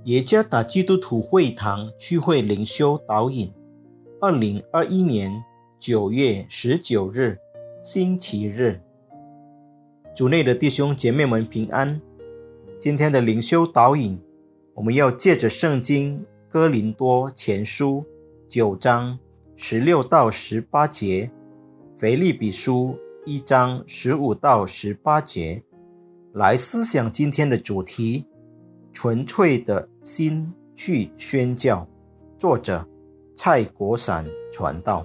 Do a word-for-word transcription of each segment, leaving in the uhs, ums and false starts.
耶加达基督徒会堂聚会灵修导引，二零二一年九月十九日，星期日。主内的弟兄姐妹们平安。今天的灵修导引，我们要借着圣经哥林多前书九章十六到十八节，腓立比书一章十五到十八节，来思想今天的主题：纯粹的心去宣教。作者蔡国闪传道。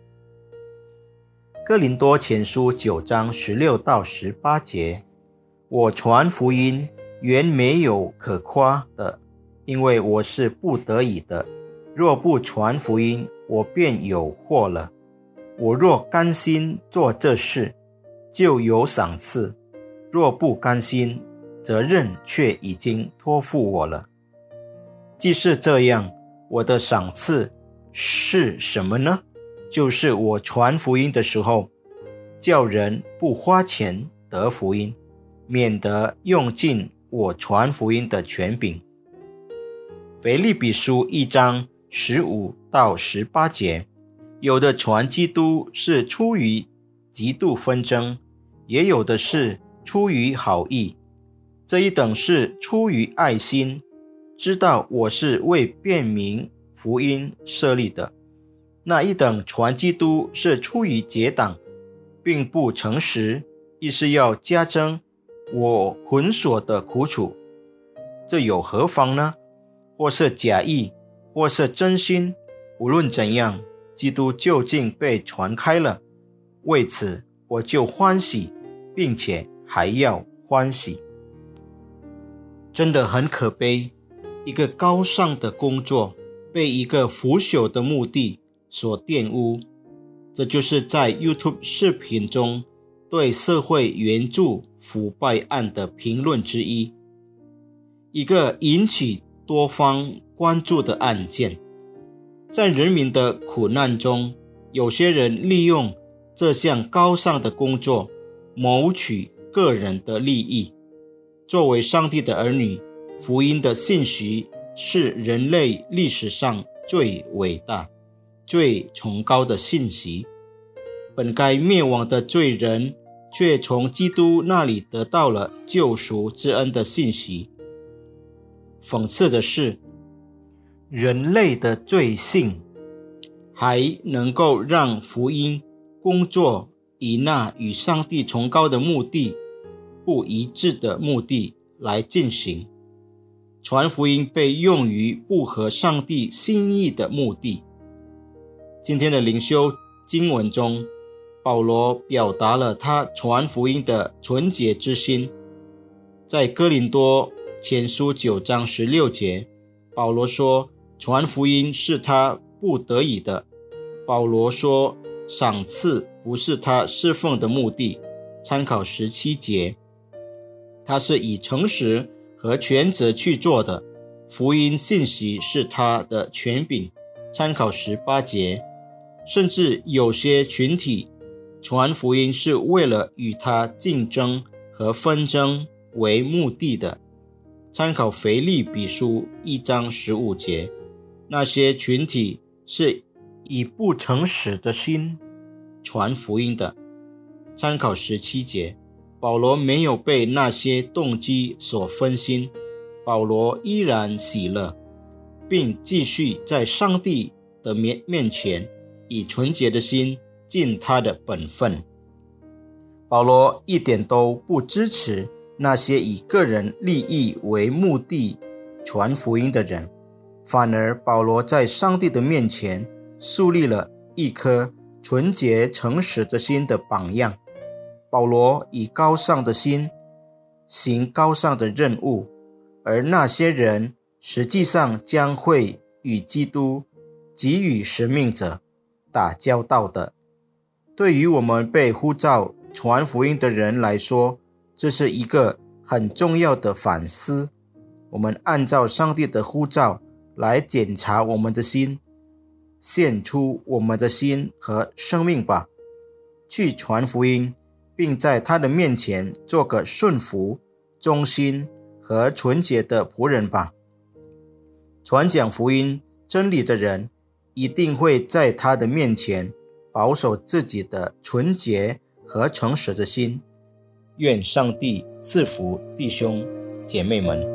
哥林多前书九章十六到十八节，我传福音原没有可夸的，因为我是不得已的。若不传福音，我便有祸了。我若甘心做这事，就有赏赐；若不甘心，责任却已经托付我了。既是这样，我的赏赐是什么呢？就是我传福音的时候，叫人不花钱得福音，免得用尽我传福音的权柄。腓立比书一章十五到十八节，有的传基督是出于嫉妒纷争，也有的是出于好意。这一等是出于爱心，知道我是为辨明福音设立的。那一等传基督是出于结党，并不诚实，意是要加增我捆锁的苦楚。这有何妨呢？或是假意，或是真心，无论怎样，基督究竟被传开了。为此我就欢喜，并且还要欢喜。真的很可悲，一个高尚的工作被一个腐朽的目的所玷污。这就是在 YouTube 视频中对社会援助腐败案的评论之一，一个引起多方关注的案件。在人民的苦难中，有些人利用这项高尚的工作谋取个人的利益。作为上帝的儿女，福音的信息是人类历史上最伟大、最崇高的信息。本该灭亡的罪人，却从基督那里得到了救赎之恩的信息。讽刺的是，人类的罪性还能够让福音工作以那与上帝崇高的目的不一致的目的来进行。传福音被用于不合上帝心意的目的。今天的灵修经文中，保罗表达了他传福音的纯洁之心。在哥林多前书九章十六节，保罗说传福音是他不得已的。保罗说赏赐不是他侍奉的目的。参考十七节，他是以诚实和全责去做的。福音信息是他的权柄。参考十八节，甚至有些群体传福音是为了与他竞争和纷争为目的的。参考腓立比书一章十五节，那些群体是以不诚实的心传福音的。参考十七节，保罗没有被那些动机所分心，保罗依然喜乐，并继续在上帝的面面前以纯洁的心尽他的本分。保罗一点都不支持那些以个人利益为目的传福音的人，反而保罗在上帝的面前树立了一颗纯洁诚实的心的榜样。保罗以高尚的心行高尚的任务，而那些人实际上将会与基督给予使命者打交道的。对于我们被呼召传福音的人来说，这是一个很重要的反思。我们按照上帝的呼召来检查我们的心，献出我们的心和生命吧，去传福音，并在他的面前做个顺服、忠心和纯洁的仆人吧。 传讲福音真理的人，一定会在他的面前保守自己的纯洁和诚实的心。愿上帝赐福弟兄姐妹们。